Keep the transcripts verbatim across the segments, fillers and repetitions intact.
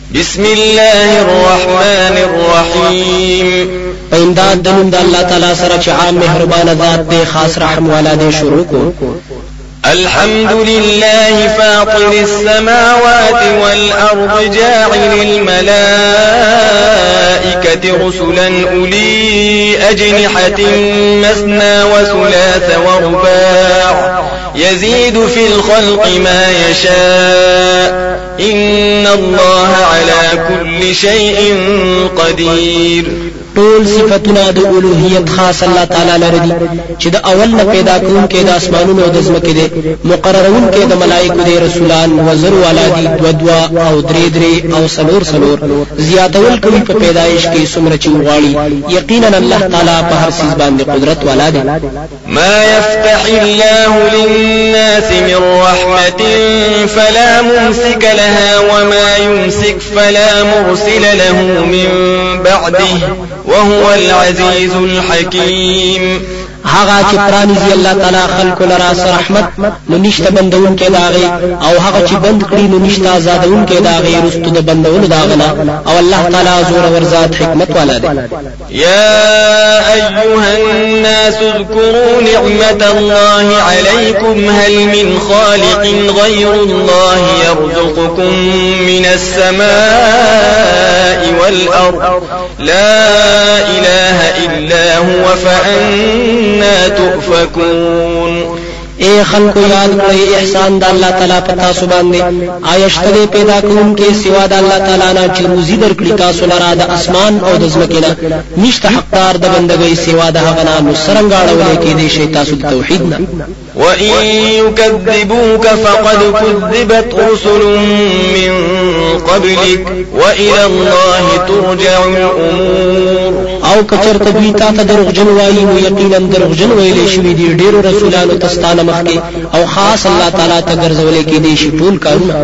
بسم الله الرحمن الرحيم. امداد دنم دا اللہ تعالی سره چې عام مهربان ذات دے خاص رحم والا دے شروع کو. الحمد لله فاطر السماوات والأرض جاعل الملائكة رسلا أولي أجنحة مثنى وثلاث ورباع يزيد في الخلق ما يشاء إن الله على كل شيء قدير. ټول صفاتونه د اولوهیت خاص الله تعالی لري دي چې د اول نه پیدا کوونکې د اسمانونو او د ځمکې دي، مقررونکې د ملائکو دي، رسولان وزر والا دي، دو دوا او درې درې او سلور سلور، زیاتول کوي په پیدایش کې څومره چې وغواړي. یقینا الله تعالی په هر څه باندې قدرت والا دی. ما يفتح الله للناس من رحمة فلا ممسك لها وما يمسك فلا مرسل له من بعده وهو العزيز الحكيم. هغه چې پرانیزي الله تعالی خلق لرا سره رحمت نو نشته بندون کې داغي، او هغه چې بند کړی نو نشته آزادون کې داغي رستو د بندون داغنا، او الله تعالی زور ورزاد حکمت والا دی. يا أيها الناس اذكروا نعمة الله عليكم هل من خالق غير الله يرزقكم من السماء والأرض لا إله إلا هو فأنا تؤفكون. اے خلقو یاد کړئ احسان د الله تعالی په تاسو باندې، آیشته پیدا کوونکې سوا د الله تعالی نه چې روزي درکړي تاسو لرا د اسمان او د ځمکې نه، نشته حقدار د بندګۍ سوا د هغه نه، نو څرنګه اړولې کې دي شي تاسو د توحید نه. وَإِن يُكَذِّبُوكَ فَقَدْ كُذِّبَتْ رُسُلٌ مِّن قَبْلِكَ وَإِلَى اللَّهِ تُرْجَعُ الْأُمُورُ. او کچرته دوی تا ته دروغجن وایي نو یقینا دروغجن ویلې شوي دي ډېرو رسولانو تستانه مخکې، او خاص الله تعالی ته ګرځولې کې دي شي ټول کارونه.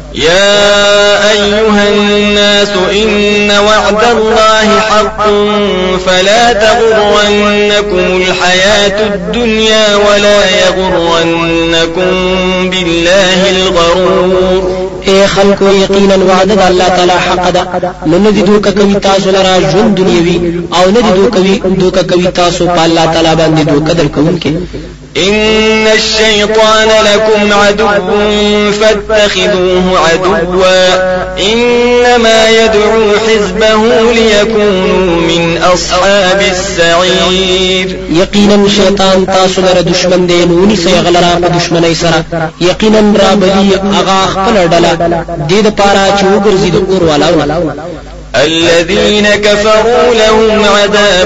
يا أيها الناس إن وعد الله حق فلا تغرنكم الحياة الدنيا ولا يغرنكم بالله الغرور. اے خلقو یقینا وعده الله تعالی حق ده، نو ندی دوکه کوي تاسو لرا ژوند دنیوي، او ندی دوکه دوکه کوي تاسو په الله تعالی باندې دوکه درکوونکې. إن الشيطان لكم عدو فاتخذوه عدوا إنما يدعو حزبه ليكونوا من أصحاب السعير. يقينا شيطان تاسو لره دشمن دی، نو ني سيغلرا په دشمنۍ سره، يقينا رابلي اغا خپل ډله دې د پاره چې وګرځي د اور والاو. الذين كفروا لهم عذاب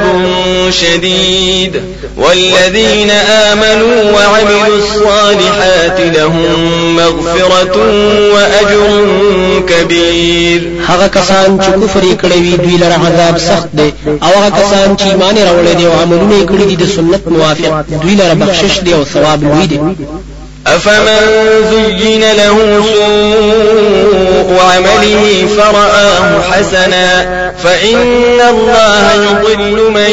شديد والذين آمنوا وعملوا الصالحات لهم مغفرة وأجر كبير. هغه کسان چې کفر کړی وي دوی لره عذاب سخت دی، او هغه کسان چې ایمان راوړي دي او عملونه کړی دي د سنت موافق دوی لره بخشش دی او ثواب لوی دی. أفمن زين له سوء عمله فرآه حسنا فإن الله يضل من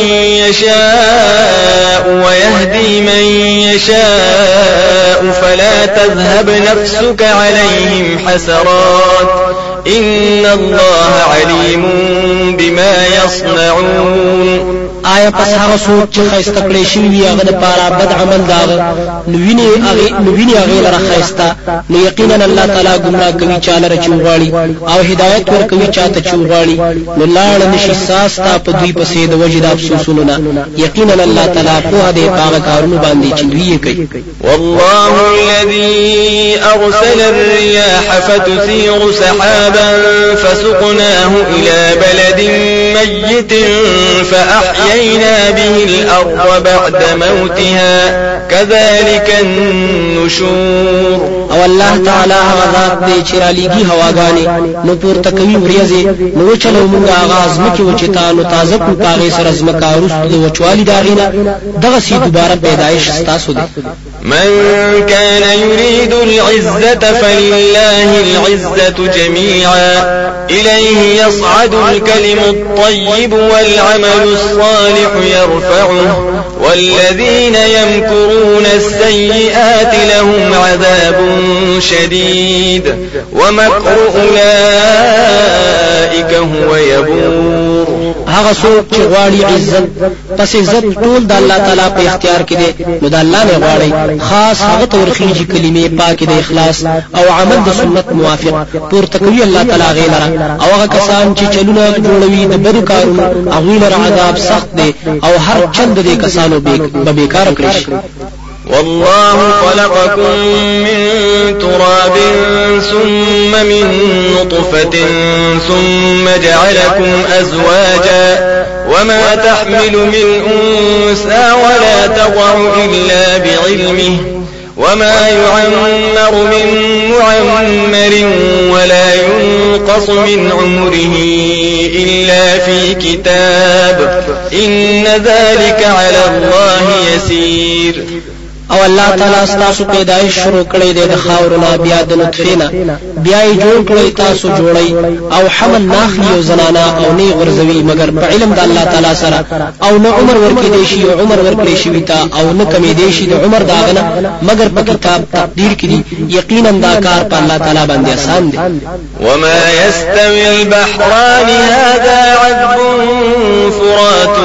يشاء ويهدي من يشاء فلا تذهب نفسك عليهم حسرات إن الله عليم بما يصنعون. آیا پس هغه سوچ چې خیسته کړی شوی وي هغه د پاره بد عمل داغه نو ویني هغه نو ویني هغه لره خیسته، نو یقینا الله تعالی ګمراه کوي چاله رچ وغواړي او هدایت ور کوي چاته چې وغواړي، نو لاړ نشي ساس تا په دوی پسې د وجد افسوسونه نه، یقینا الله تعالی په دې پاک کارونه باندې چې دوی کوي. والله الذي أرسل الرياح فتثير سحابا فسقناه إلى بلد ميت فأحيينا به الأرض بعد موتها كذلك النشور. او الله تعالی غذات دې چې را لېږي هواګانې نو پورته کوي وریځې، نو چلو موږ آغاز مکه وچتانو تازه کو پاغه سره زمکا ورستو د وچوالي داغینا دغه سي دوباره پیدائش ستاسو دي. من كان يريد العزة فلله العزة جميعا إليه يصعد الكلم الطيب والعمل الصالح يرفعه والذين يمكرون السيئات لهم عذاب شديد ومكر أولئك أولئك هو يبور. هغه څوک چې غواړي عزت پس عزت ټول د الله تعالی په اختیار کې دی، نو د الله نه غواړي خاص هغه تورخیږي کلمې پاکي د اخلاص او عمل د سنت موافق پورته کوي الله تعالی غیلره، او هغه کسان چې چلونه جوړوي د بدو کارونو هغوی لپاره عذاب سخت دی او هر چند دې کسانو به بیکار کړی شي. والله خلقكم من تراب ثم من نطفة ثم جعلكم أزواجا وما تحمل من أنثى ولا تضع إلا بعلمه وما يعمر من معمر ولا ينقص من عمره إلا في كتاب إن ذلك على الله يسير. او الله تعالی ستاسو پیدایش شروع کړی دی د خاورنا بیا د نطفه نه، بیا یې جوړ کړی تاسو جوړی او حمل ناخلی او زنانا او نه غرزوي مگر په علم د الله تعالی سره، او نه عمر ورکې دی شي او عمر ورکړي شي تا او نه کمی دی شي د عمر داغنه مگر په کتاب تقدیر کې دی. یقینا دا کار په الله تعالی باندې آسان دی. وما يستوي البحران هذا عذب فرات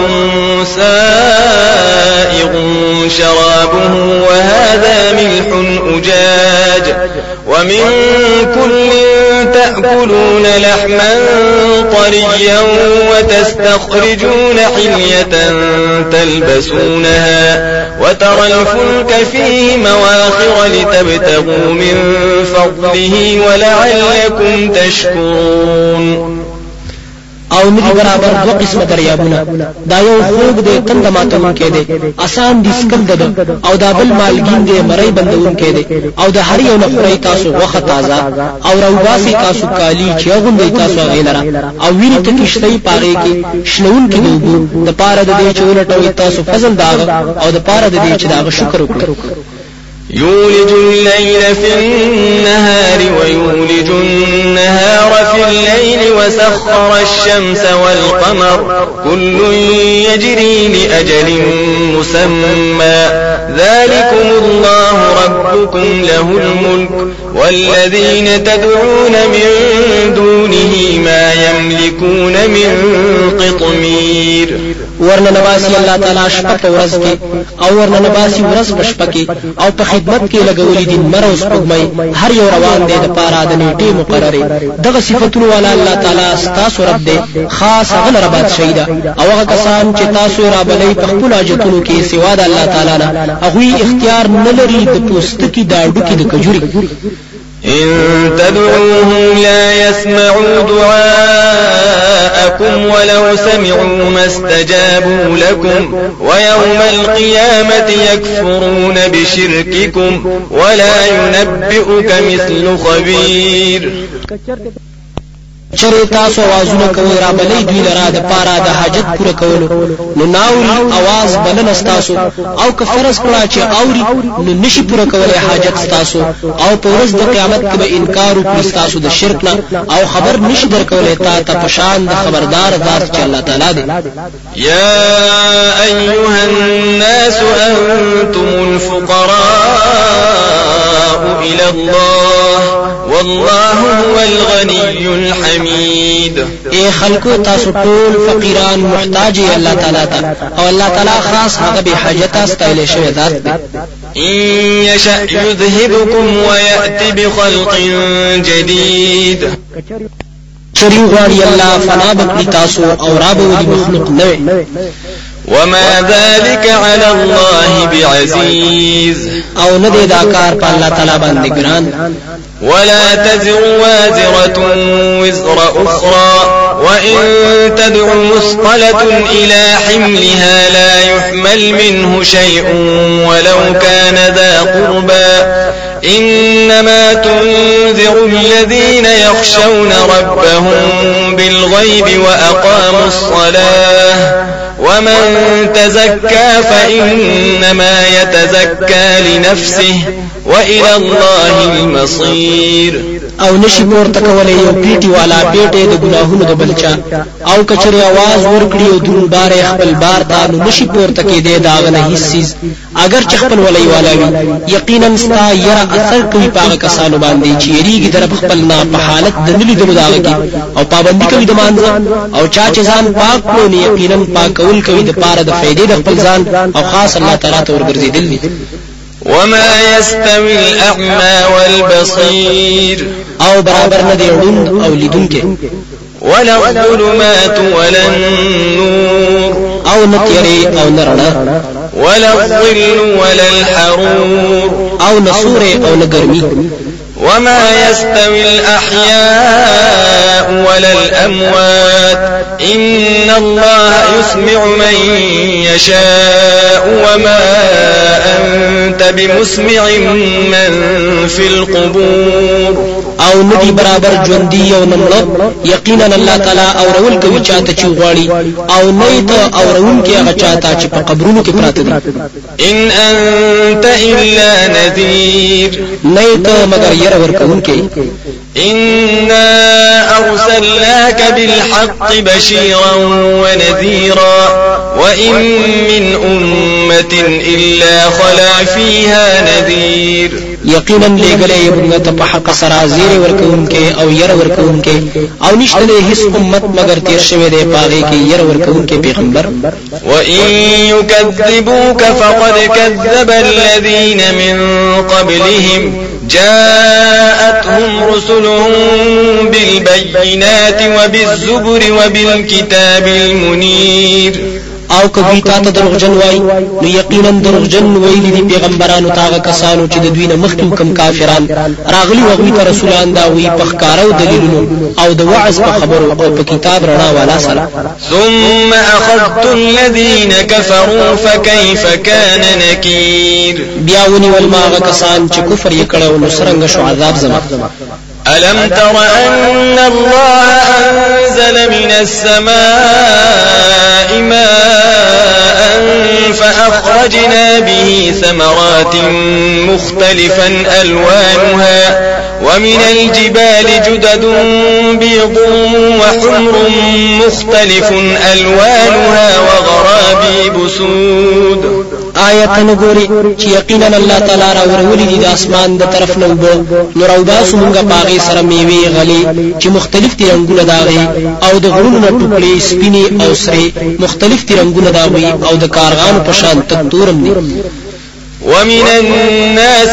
سائغ شرابه وهذا ملح أجاج ومن كل تأكلون لحما طريا وتستخرجون حلية تلبسونها وترى الفلك فيه مواخر لتبتغوا من فضله ولعلكم تشكرون. او ندی برابر دو قسم دریابونه، دا یو خوب دی تند ماتون کې دی آسان دي سکل ده، او دا بل مالګین دی مړی بندون کې دی، او د هر یو نخوري تاسو وخت تازه او روباسي تاسو کالی چې غوندي تاسو غیلره، او ویني ته کیشتي پاره کې شنون کې دوبو د پاره د دې چولټوي تاسو فضل داغ او د پاره د دې چې داغ شکر وکړو. يولج الليل في النهار ويولج النهار في الليل وسخر الشمس والقمر كل يجري لأجل مسمى ذلكم الله ربكم له الملك والذين تدعون من دونه ما يملكون من قطمير. ورنه نباسي الله تعالی شپه په ورځ کې او ورنه نباسي ورځ په شپه کې او په خدمت کې لګولې دي مروز پګمای هر یو روان دی د پاره د نیټه مقرره. دغه صفاتونه والا الله تعالی ستاسو رب دی، خاص هغه رب شهیدا او هغه کسان چې تاسو را بلې په خپل حاجتونو کې سوا د الله تعالی نه هغه اختیار نه لري د پوستکی دا ډوکی د کجوري. إن تدعوهم لا يسمعوا دعاءكم ولو سمعوا ما استجابوا لكم ويوم القيامة يكفرون بشرككم ولا ينبئك مثل خبير. چرې تاسو आवाजونه کوي را بلې دوی لرا د پاره د حاجت پوره کولو، نو ناوري आवाज بلنه تاسو او که فرض کړه چې اوري نو نشي پوره کولای حاجت تاسو، او په ورځ د قیامت کې به انکار وکړي تاسو د شرک نه او خبر نشي درکولای تا ته پشان د خبردار ذات چې الله تعالی دی. يا أيها الناس أنتم الفقراء إلى الله والله هو الغني الحميد. اے خلقو تاسو ټول فقیران محتاج الله تعالی ته او الله تعالی خاص هغه به حاجت استایل شوی ذات دی. إن يشأ يذهبكم ويأتي بخلق جديد. چری غواړي الله فنا بکړي تاسو او رابو دي مخلوق نوې. وما ذلك على الله بعزيز. او نه دا کار په الله تعالی باندې ګران. ولا تزر وازرة وزر أخرى وإن تدع مثقلة إلى حملها لا يحمل منه شيء ولو كان ذا قربى إنما تنذر الذين يخشون ربهم بالغيب وأقاموا الصلاة ومن تزكى فإنما يتزكى لنفسه وإلى الله المصير. او نشي پورته کولای یو پیټي والا پیټه د ګناهونو د بلچا او کچره आवाज ورکړي او دون بار خپل بار ته نو نشي پورته کې دی داغه نه هیڅ اگر چې خپل ولای والا وي یقینا ستا یرا اثر کوي پاغه کسانو باندې چې یریږي در خپل نه په حالت د نلی د داغه کې او پابندي کوي د مانځه او چا چې ځان پاک کړي یقینا پاکول کوي د پاره د فائدې د خپل ځان او خاص الله تعالی ته ورګرځیدل دي. وما يستوي الأعمى والبصير او برابر نه دی ړوند او لیدونکي ولا الظلمات ولا النور او نتيري او نرنا ولا الظل ولا الحرور او نصور او نگرمي وما يستوي الأحياء ولا الأموات إن الله يسمع من يشاء وما أنت بمسمع من في القبور او ندی برابر ژوندۍ او نمړه یقینا الله تعالی اورول کوي چاته چې غواړي او نه ته اورون کې هغه چاته چې په قبرونو کې پراته دي. ان انت الا نذير نه ته مگر ير ورکون کې إنا أرسلناك بالحق بشيرا ونذيرا وإن من أمة إلا خلا فيها نذير یقینا لګلې موږ ته په حق سره زیر ورکون کې او ير ورکون کې او نشته هیڅ امت مگر تیر شوی دی پاغه کې ير ورکون کې پیغمبر. وإن يكذبوك فقد كذب الذين من قبلهم جاءتهم رسلهم بالبينات وبالزبر وبالكتاب المنير او کبي تا ته دروغجن وای نو یقینا دروغجن ویل دي پیغمبرانو تاغه کسانو چې د دوی نه مخکم کم کافران راغلي وغوي ته رسولان دا وی په ښکارو دلیلونو او د وعظ په خبرو او په کتاب رڼا والا سره. ثم اخذت الذين كفروا فكيف كان نكير بیا ونی ولما کسان چې کفر یې کړو نو سرنګ شو عذاب زما. ألم تر أن الله أنزل من السماء ماء فأخرجنا به ثمرات مختلفا ألوانها ومن الجبال جدد بيض وحمر مختلف ألوانها وغرابيب سود. آیت نګوري چې یقینا الله تعالی را ورولې دي د اسمان د طرف نه وبو نور او باسو مونږه پاغي سره میوي غلي چې مختلف دي رنگونه داغي او د غرونو ټوکړي سپيني او سري مختلف دي رنگونه داغي او د کارغان په شان تورم دي. ومن الناس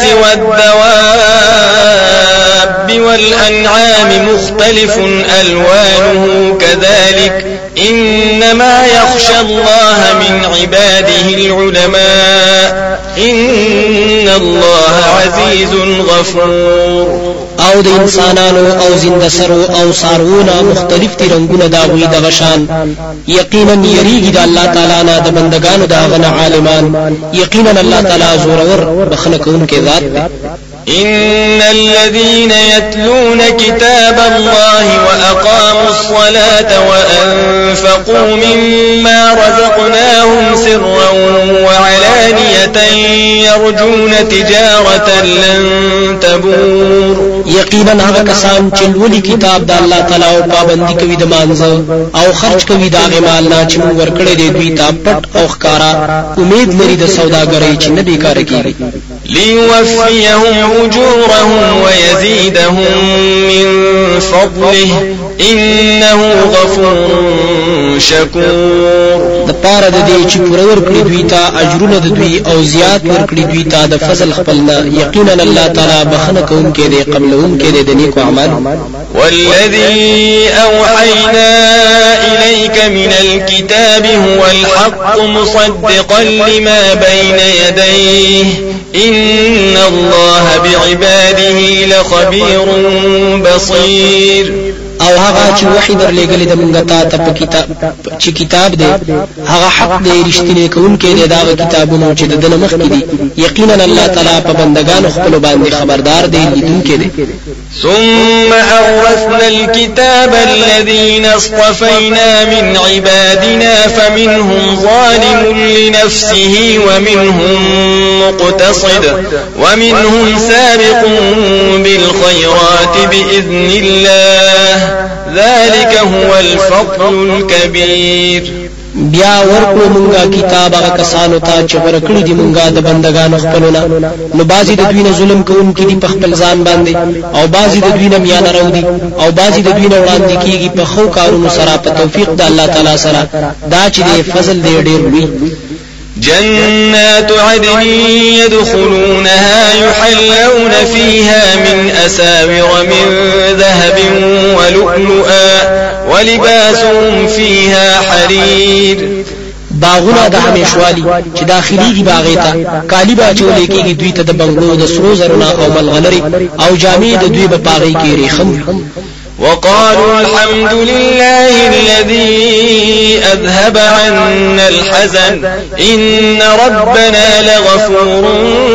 والدواب والأنعام مختلف ألوانه كذلك إنما يخشى الله من عباده العلماء إن الله عزيز غفور. او د انسانانو او زندسرو او سارونه مختلف دي رنگونه داوی د غشان یقینا یریږي د الله تعالی نه د بندگانو داغه عالمان یقینا الله تعالی زورور بخنه کوونکی ذات دی. إن الذين يتلون كتاب الله وأقاموا الصلاة وأنفقوا مما رزقناهم سرا وعلانية يرجون تجارة لن تبور. یقینا هغه کسان چې ولي کتاب د الله تعالی او پابندي کوي د مانځه او خرج کوي د هغه مال نه چې موږ ورکړي دی دوی ته پټ او ښکارا امید لري د سوداګرۍ چې نه بیکاره کیږي. ليوفيهم أجورهم ويزيدهم من فضله إنه غفور شكور. د پاره د دې چې پوره ورکړي دوی ته اجرونه د دوی او زیات ورکړي دوی ته د فضل خپلنا یقینا الله تعالی بخنه کوونکی دی قبلونکی دی د نیکو اعمال. والذي أوحينا إليك من الكتاب هو الحق مصدقا لما بين يديه إن الله بعباده لخبير بصير. او هغه چې وحی درلېګلې د مونږ ته ته کتاب چې کتاب دی هغه حق دی رښتینی کوونکی دی دا کتابونه چې د دنه مخ کې دي یقینا الله تعالی په بندگانو خپل باندې خبردار دی لیدونکی دی. ثم أورثنا الكتاب الذين اصطفينا من عبادنا فمنهم ظالم لنفسه ومنهم مقتصد ومنهم سابق بالخيرات بإذن الله ذلك هو الفضل الكبير. بیا ورکو مونږه کتاب هغه کسانو ته چې ورکړي دي مونږه د بندگانو خپلونه نو بازي د دوی نه ظلم کوونکي دي په خپل ځان باندې او بازي د دوی نه میانه راوړي او بازي د دوی نه وړاندې کیږي په خو کارونو سره په توفیق د الله تعالی سره دا چې د فضل دی ډېر لوی. جنات عدن يدخلونها يحلون فيها من أساور من ذهب ولؤلؤا ولباسهم فيها حرير. باغونه د همیشوالي چې داخليږي باغیتا کالی باچولې کېږي دوی ته د بنگلو د سرو زرنا او ملغلري او جامې د دوی په باغې کې ریخم. وقالوا الحمد لله الذي أذهب عنا الحزن إن ربنا لغفور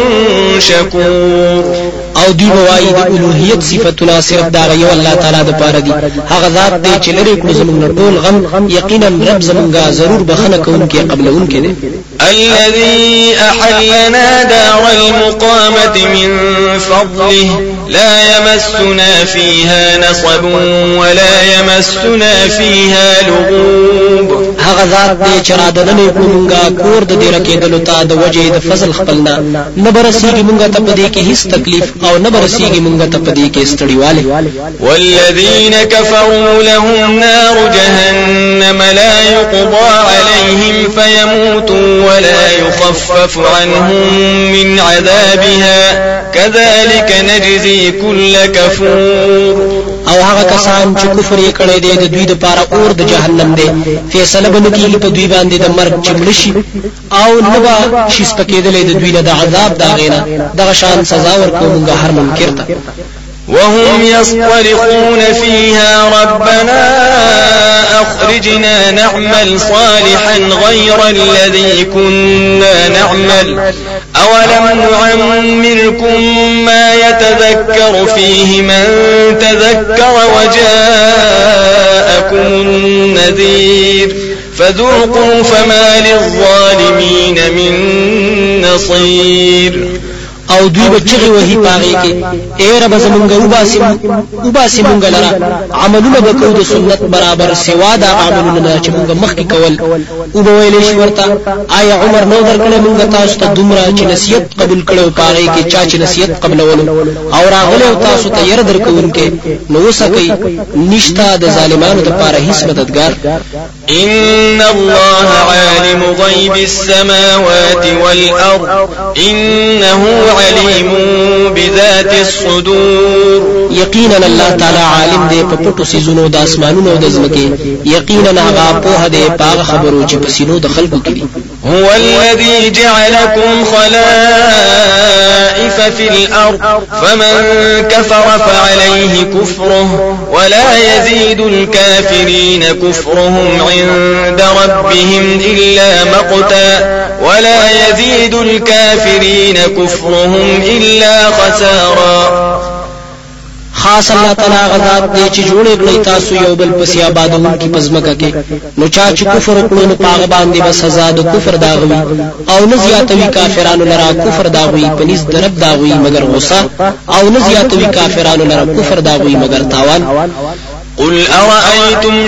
شكور. او دوی بوایي د الوهیت صفاتونه صرف دا یو الله تعالی د پاره دي هغه ذات دی چې لري کړو زموږ ټول غم یقینا رب زمونږه ضرور بخنه کوونکی قبلونکی دی. الذي أحلنا دار المقامة من فضله لا يمسنا فيها نصب ولا يمسنا فيها لغوب. هغه ذات دی چې را دننه کومګه کور د دې رکیدلو ته د وجه د فضل خپلنا نه برسیږي مونږ ته په دې کې هیڅ تکلیف او نه برسیږي مونږ ته په دې کې ستړیواله. والذين كفروا لهم نار جهنم لا يقضى عليهم فيموتوا ولا يخفف عنهم من عذابها كذلك نجزي كل كفور. او هغه کسان چې کفر یې کړی دی د دوی لپاره اور د جهنم دی فیصله به کیږي په دوی باندې د مرګ چمړشي او نه به شي سپکېدلې د دوی نه د عذاب دا غینا دغه شان سزا ورکوونګه هر منکر ته. وهم يصطرخون فيها ربنا أخرجنا نعمل صالحا غير الذي كنا نعمل أولم نعمركم ما يتذكر فيه من تذكر وجاءكم النذير فذوقوا فما للظالمين من نصير. او دوی بچغي وਹੀ پاغي کې اے رب زمونږ وباسي وباسي مونږ لرا عملونه وکړو د سنت برابر سوا دا عملونه چې مونږ مخکې کول او به ویلې شو ورته آیا عمر نو درکړې مونږ تاسو ته دومره چې نصیحت قبول کړو پاغي کې چا چې نصیحت قبلولو او راغله تاسو ته ير درکونکې نو وسکي نشتا د ظالمانو لپاره هیڅ مددگار. ان الله عالم غيب السماوات والارض انه عليم بذات الصدور. یقینا الله تعالی عالم دی په پټو سيزونو د اسمانونو د زمکه یقینا هغه په دې پاغه خبرو چې په سينو د خلقو کې دي. هو الذي جعلكم خلائف في الارض فمن كفر فعليه كفره ولا يزيد الكافرين كفرهم عند ربهم إلا مقتا ولا يزيد الكافرين كفرهم إلا خسارا. خاص الله تعالی غزاد دی چې جوړ کړی تاسو یو بل پس آبادون کی پزمکه کې نو چا چې کفر وکړو نو پاغه باندې بس سزا د کفر داغوي او نه زیاتوي کافرانو لرا کفر داغوي پنځ درب داغوي مگر غصه او نه زیاتوي کافرانو لرا کفر داغوي مگر تاوان. قل أرأيتم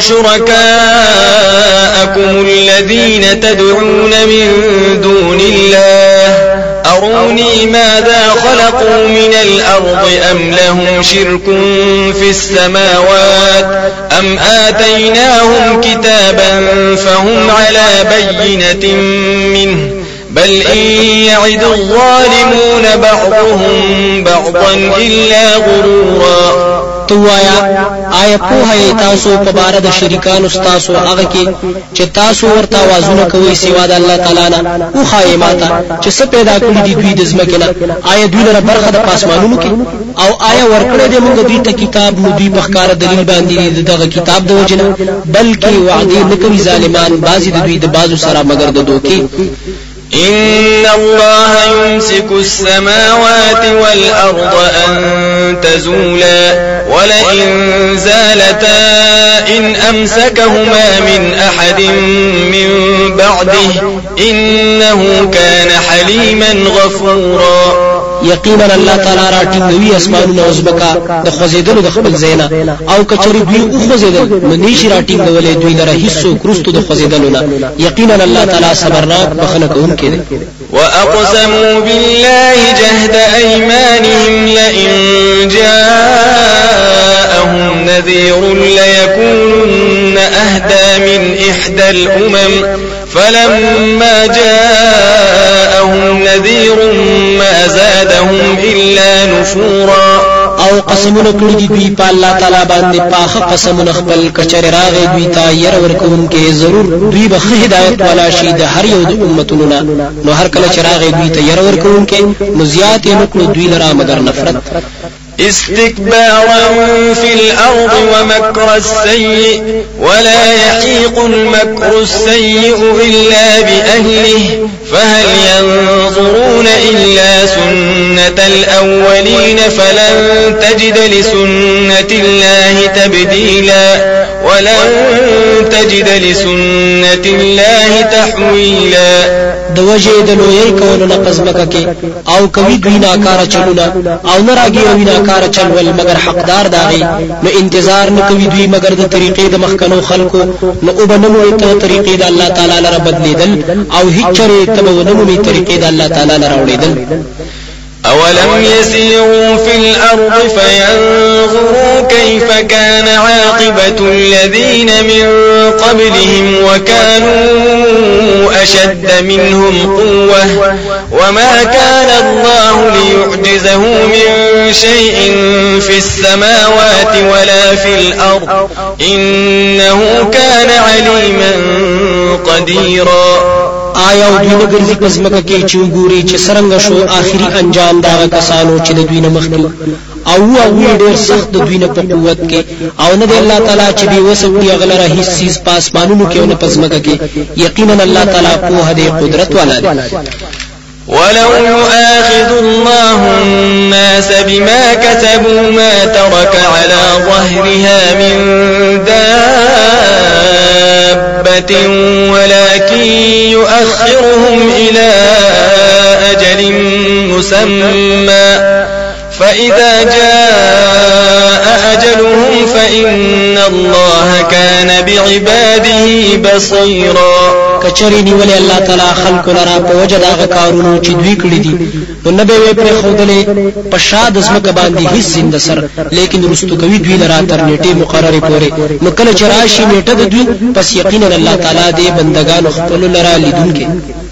شركاءكم الذين تدعون من دون الله أروني ماذا خلقوا من الأرض أم لهم شرك في السماوات أم آتيناهم كتابا فهم على بينة منه بل إن يعد الظالمون بعضهم بعضا إلا غرورا. توایا آیا په تاسو په بار د شریکان تاسو هغه کې چې تاسو ورته आवाजونه کوي سوا د الله تعالی نه او خایماته چې څه پیدا کړی دی دوی د ځمکې نه آیا دوی لپاره برخه د پاسمانونو کې او آیا ورکړه دې موږ دوی ته کتاب نو دوی په ښکار دلیل باندې دغه کتاب د وجنه بلکې وعده نکوي ظالمان بعضی د دوی د بازو سره مگر د دوکي إن الله يمسك السماوات والأرض أن تزولا ولئن زالتا إن أمسكهما من أحد من بعده إنه كان حليما غفورا یقینا الله تعالی راټینګوي اسمانونه او زمکا د خوځیدلو د خپل زینا او کچری دوی او خوځیدل نو نشي راټینګولې دوی لره هیڅ کروستو د خوځیدلو نه یقینا الله تعالی صبرناک بخنه کوونکی دی واقسموا بالله جهد ايمانهم لئن جاءهم نذير ليكونن اهدى من احدى الامم فلما جاءهم نذير ما زادهم إلا نفورا او قسمونه کړی دي دوی په الله تعالی باندې پاخه قسمونه خپل کچره راغې دوی ته ير ورکوم کې ضرور دوی به هدایت والا شي د هر یو د امتونو نو هر کله چې راغې دوی ته ير ورکوم کې نو زیات یې نکړو دوی لرا مگر نفرت استكبارا في الأرض ومكر السيء ولا يحيق المكر السيء إلا بأهله فهل ينظرون إلا سنة الأولين فلن تجد لسنة الله تبديلا ولن تجد لسنة الله تحويلا د وجه د لوی کولو نه قزمکه کې او کوي دوی ناکاره چلونه او نه راګیروي ناکاره چلول مگر حقدار داغي نو انتظار نه کوي دوی مگر د طریقې د مخکنو خلکو نو وبنمو ته طریقې د الله تعالی لپاره بدلیدل او هیڅ چره تبونمو می طریقې د الله تعالی لپاره وړیدل أولم يسيروا في الأرض فينظروا كيف كان عاقبة الذين من قبلهم وكانوا أشد منهم قوة وما كان الله ليعجزه من شيء في السماوات ولا في الأرض إنه كان عليما قديرا آیا او دوی نګرځي قسمه کې چې وګوري چې څنګه شو آخري انجام دا کسانو چې د دوی نه مخکې او او ډېر سخت د دوی نه په قوت کې او نه د الله تعالی چې دی وسوي غلره هیڅ چیز پاسمانونو کې او نه پسمه کې یقینا الله تعالی په هدي قدرت والا دی ولو يؤاخذ الله الناس بما كسبوا ما ترك على ظهرها من دابة ولكن يؤخرهم إلى أجل مسمى فإذا جاء أجلهم فإن الله كان بعباده بصيرا کچری نیولې الله تعالی خلق لرا په وجه دا کارونو چې دوی کړی دي نو نه به پر خودلې په شاد زمکه باندې هیڅ زنده سر لیکن رستو کوي دوی لرا تر نیټه مقرره پورې نو کله چې راشي نیټه د دوی پس یقینا الله تعالی دې بندگانو خپل لرا لیدونکي